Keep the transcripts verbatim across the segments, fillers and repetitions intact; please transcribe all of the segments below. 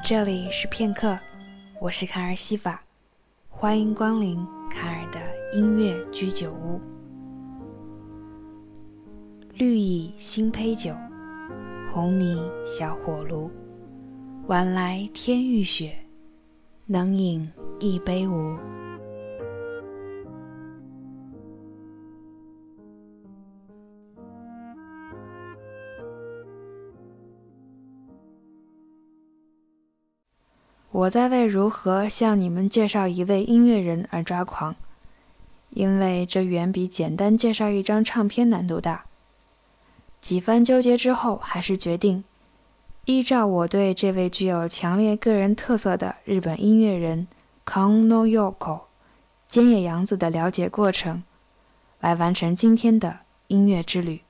这里是片刻，我是卡尔西法，欢迎光临卡尔的音乐居酒屋。绿蚁新醅酒，红泥小火炉，晚来天欲雪，能饮一杯无？我在为如何向你们介绍一位音乐人而抓狂，因为这远比简单介绍一张唱片难度大。几番纠结之后，还是决定依照我对这位具有强烈个人特色的日本音乐人 Kono Yoko 菅野洋子的了解过程，来完成今天的音乐之旅。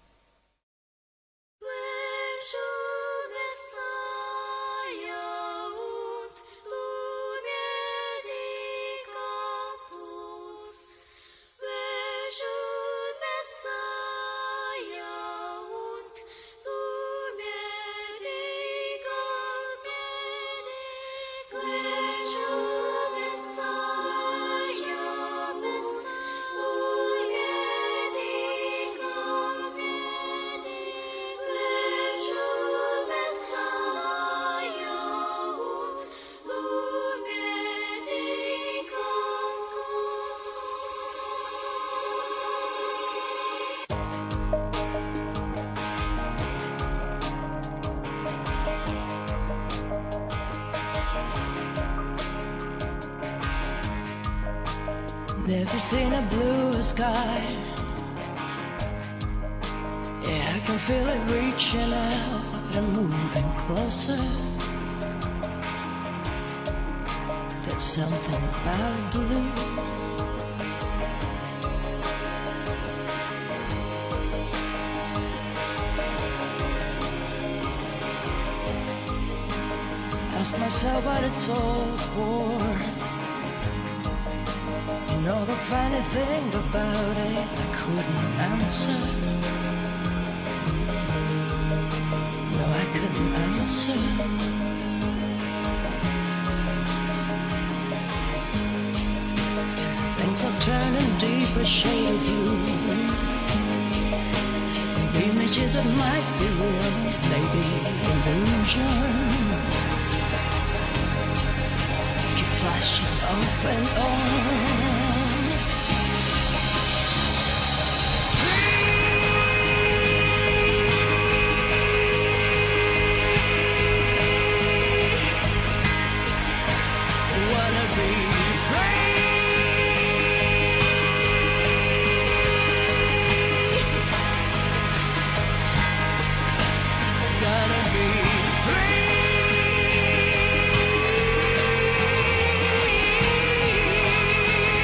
Never seen a blue sky. Yeah, I can feel it reaching out and moving closer. There's something about blue. Ask myself what it's all for.You know the funny thing about it, I couldn't answer. No, I couldn't answer. Things are turning deeper shade of blue. The images that might be real, maybe illusion. Keep flashing off and on.Wanna be free.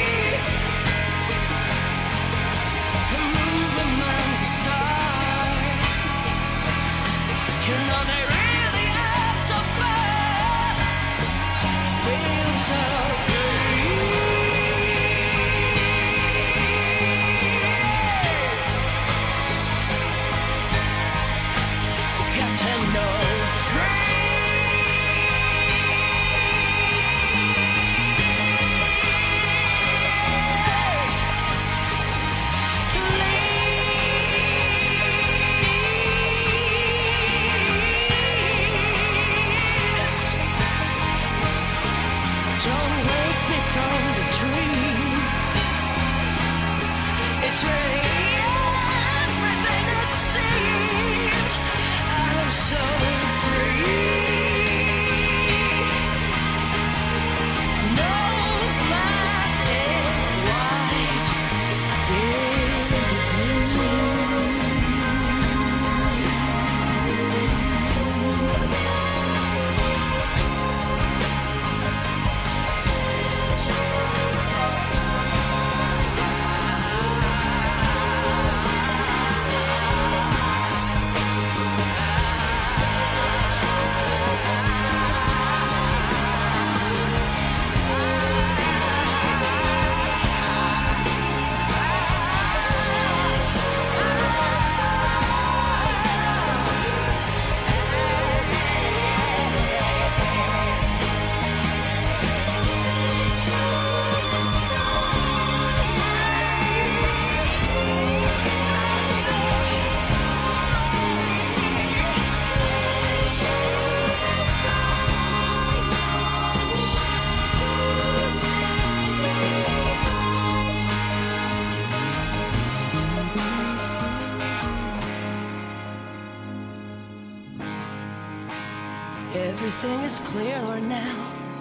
everything is clear, Lord, now.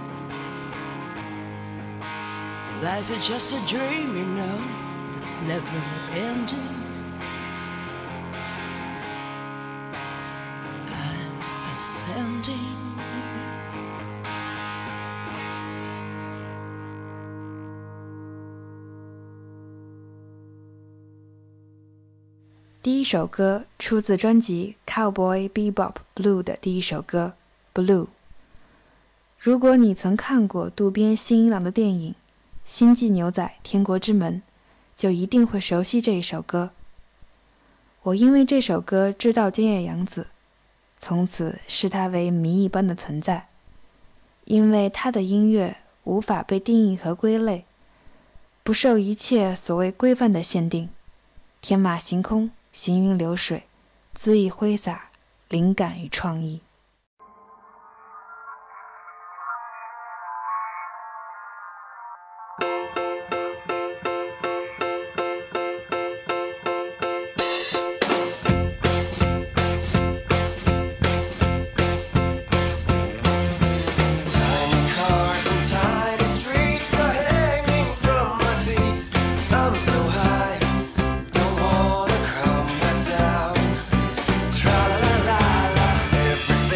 Life is just a dream, you know, that's never ending. I'm ascending. 第一首歌出自专辑《Cowboy Bebop Blue》的第一首歌《Blue》。如果你曾看过渡边信一郎的电影《星际牛仔：天国之门》，就一定会熟悉这一首歌。我因为这首歌知道菅野洋子，从此视他为谜一般的存在，因为他的音乐无法被定义和归类，不受一切所谓规范的限定，天马行空，行云流水，恣意挥洒，灵感与创意。 Every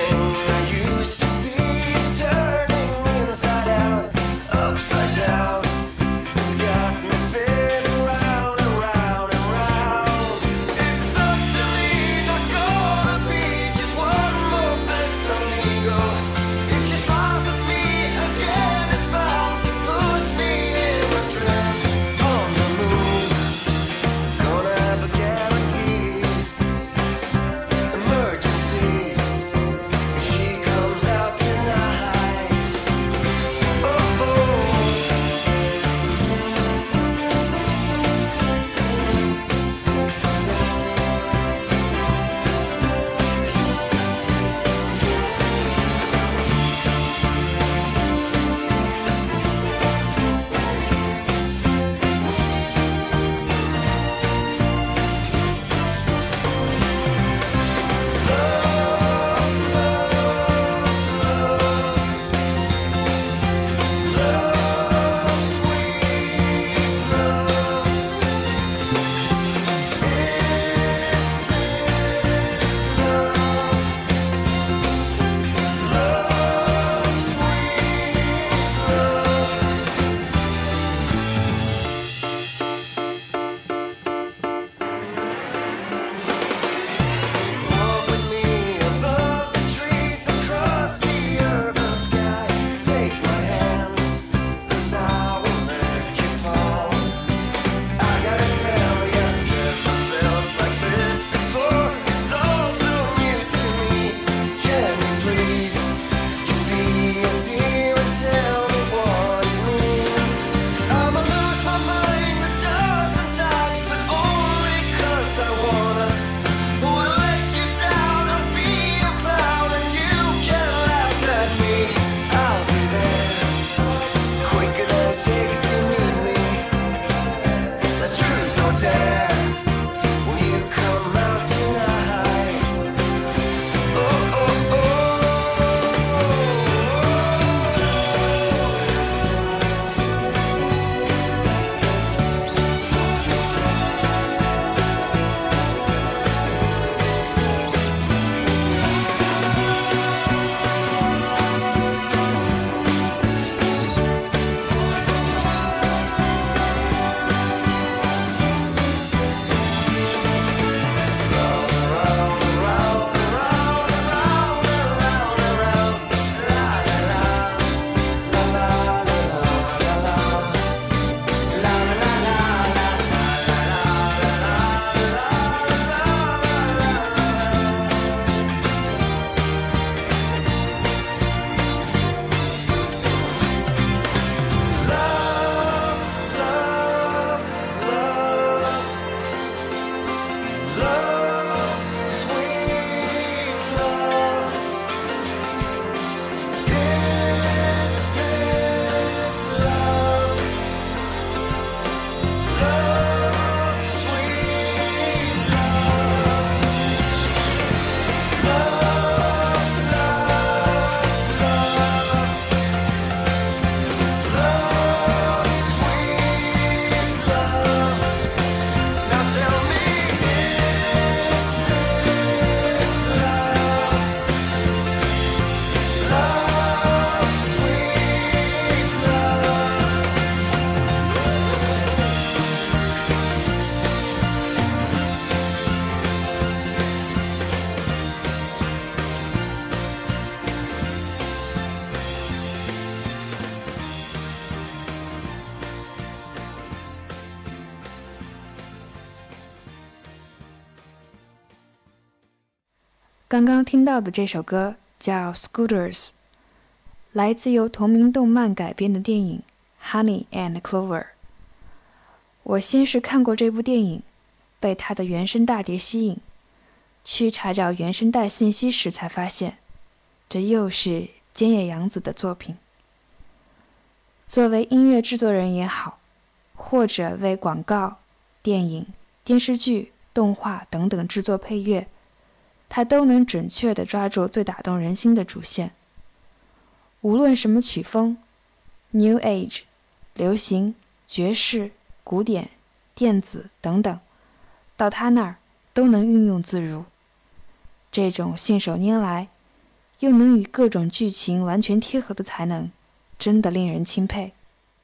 刚刚听到的这首歌叫 Scooters， 来自由同名动漫改编的电影 Honey and Clover。 我先是看过这部电影，被它的原声大碟吸引，去查找原声带信息时才发现，这又是菅野洋子的作品。作为音乐制作人也好，或者为广告、电影、电视剧、动画等等制作配乐，他都能准确地抓住最打动人心的主线。无论什么曲风 New Age、 流行、爵士、古典、电子等等，到他那儿都能运用自如。这种信手拈来又能与各种剧情完全贴合的才能，真的令人钦佩。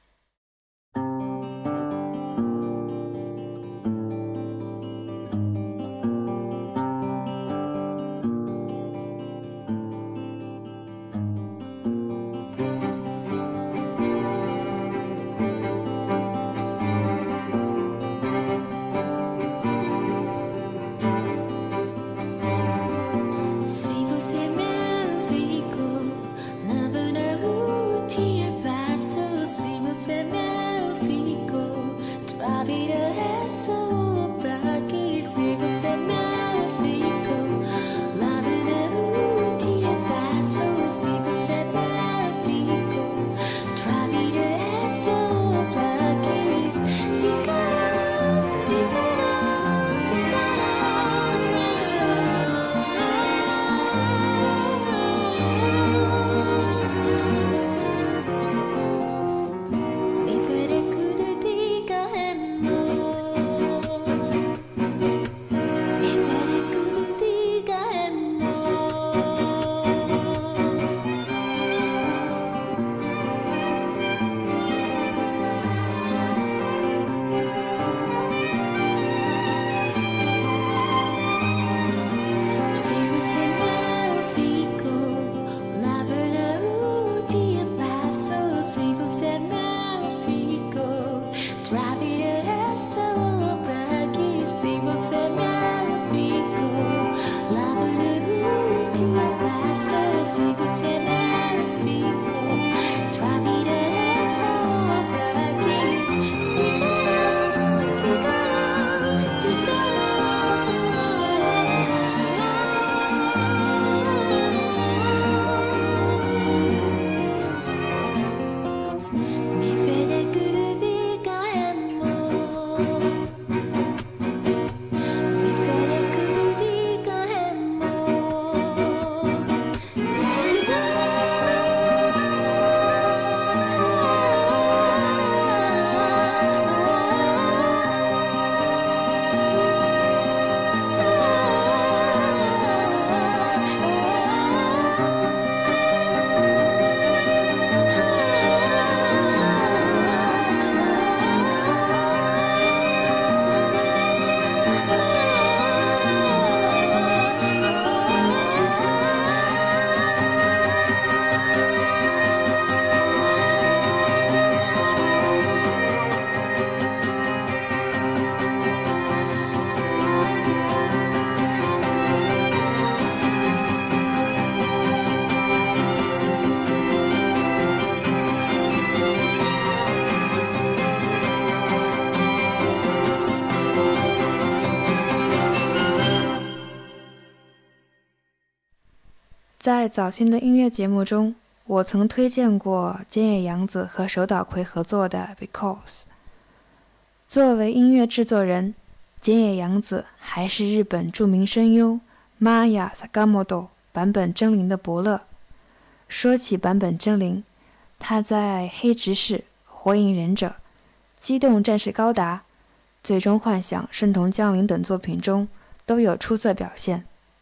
在早先的音乐节目中，我曾推荐过菅野洋子和手岛葵合作的 Because。 作为音乐制作人，菅野洋子还是日本著名声优 Maya Sakamoto 坂本真绫的伯乐。说起坂本真绫，他在黑执事、火影忍者、机动战士高达、最终幻想、圣童降临等作品中都有出色表现。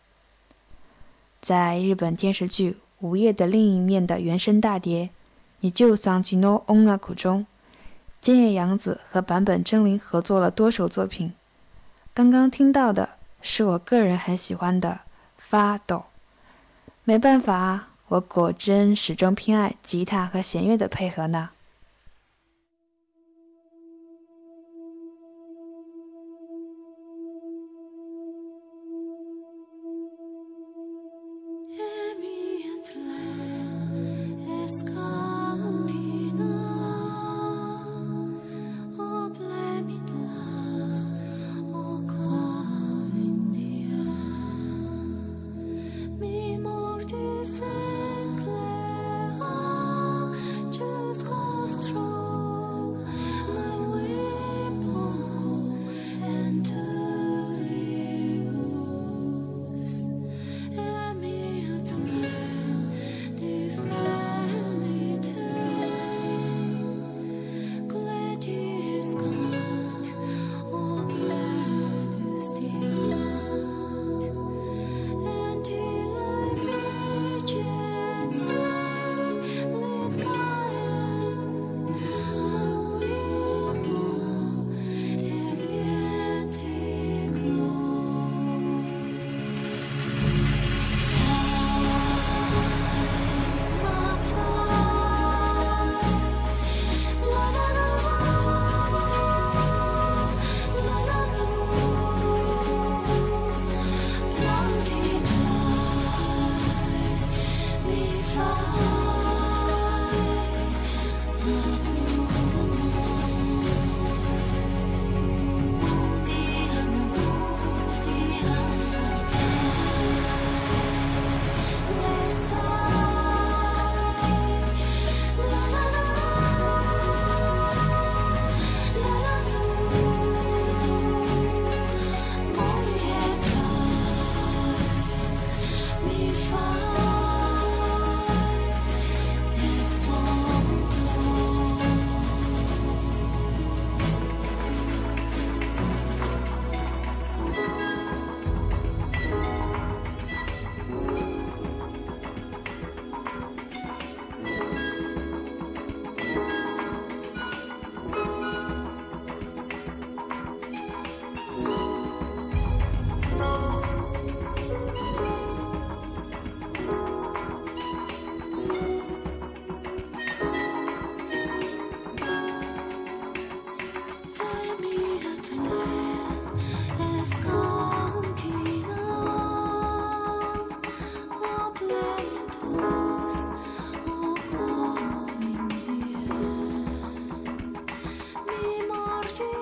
在日本电视剧《午夜的另一面》的原声大碟《日産地の音楽》中，菅野洋子和坂本真绫合作了多首作品。刚刚听到的是我个人很喜欢的《发抖》。没办法啊，我果真始终偏爱吉他和弦乐的配合呢。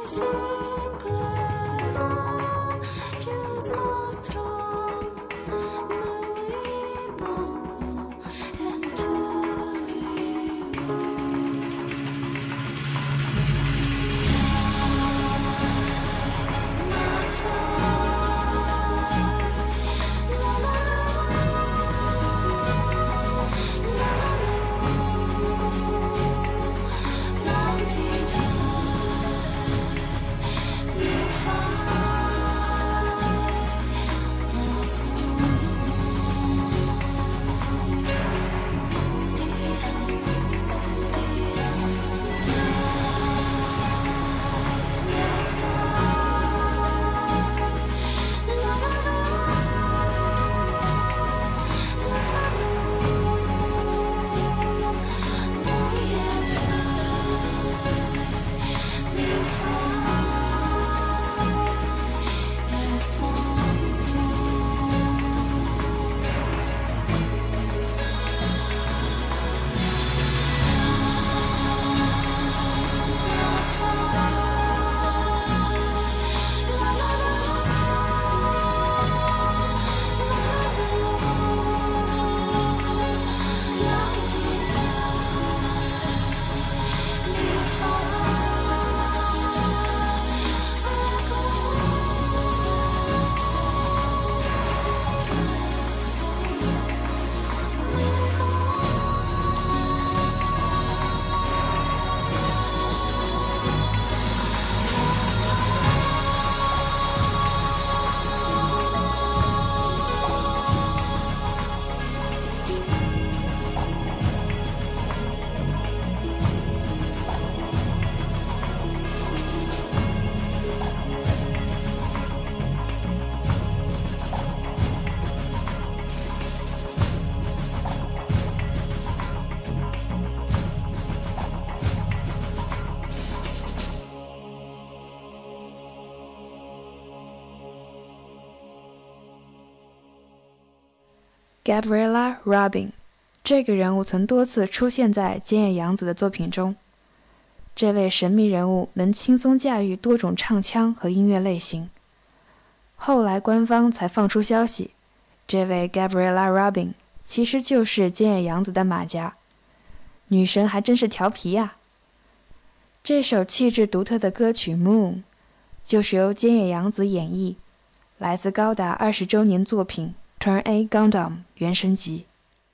Gabriella Robin 这个人物曾多次出现在菅野洋子的作品中。这位神秘人物能轻松驾驭多种唱腔和音乐类型。后来官方才放出消息，这位 Gabriella Robin 其实就是菅野洋子的马甲。女神还真是调皮呀！这首气质独特的歌曲 Moon 就是由菅野洋子演绎，来自高达二十周年作品Turn A Gundam 原声集。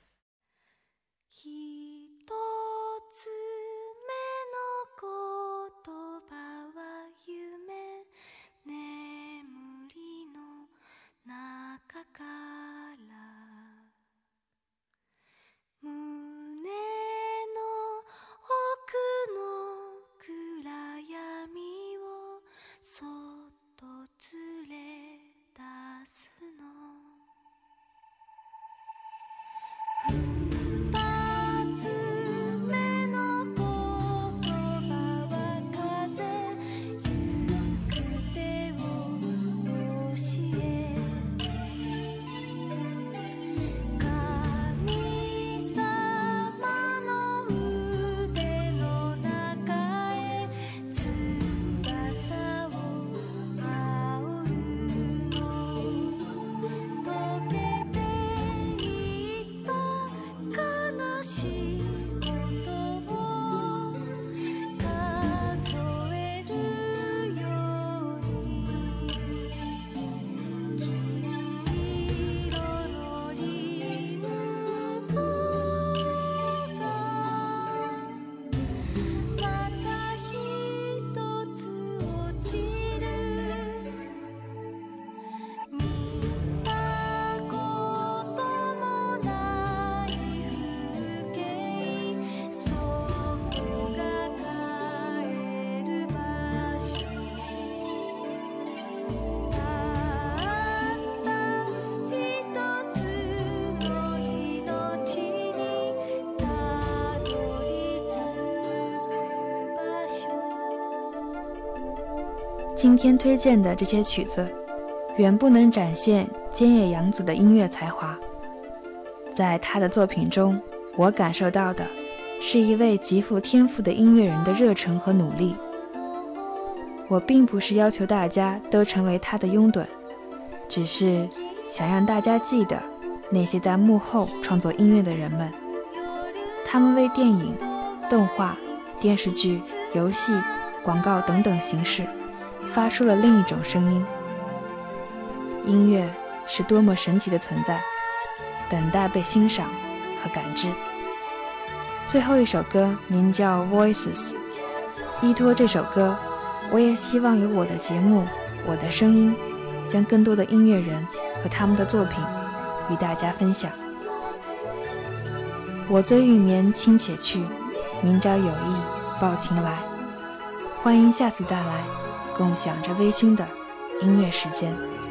今天推荐的这些曲子远不能展现菅野洋子的音乐才华，在她的作品中，我感受到的是一位极富天赋的音乐人的热忱和努力。 我并不是要求大家都成为他的拥趸，只是想让大家记得那些在幕后创作音乐的人们，他们为电影、动画、电视剧、游戏、广告等等形式发出了另一种声音。音乐是多么神奇的存在，等待被欣赏和感知。最后一首歌名叫 Voices， 依托这首歌，我也希望有我的节目，我的声音，将更多的音乐人和他们的作品与大家分享。我醉欲眠卿且去，明朝有意抱琴来。欢迎下次再来，共享着微醺的音乐时间。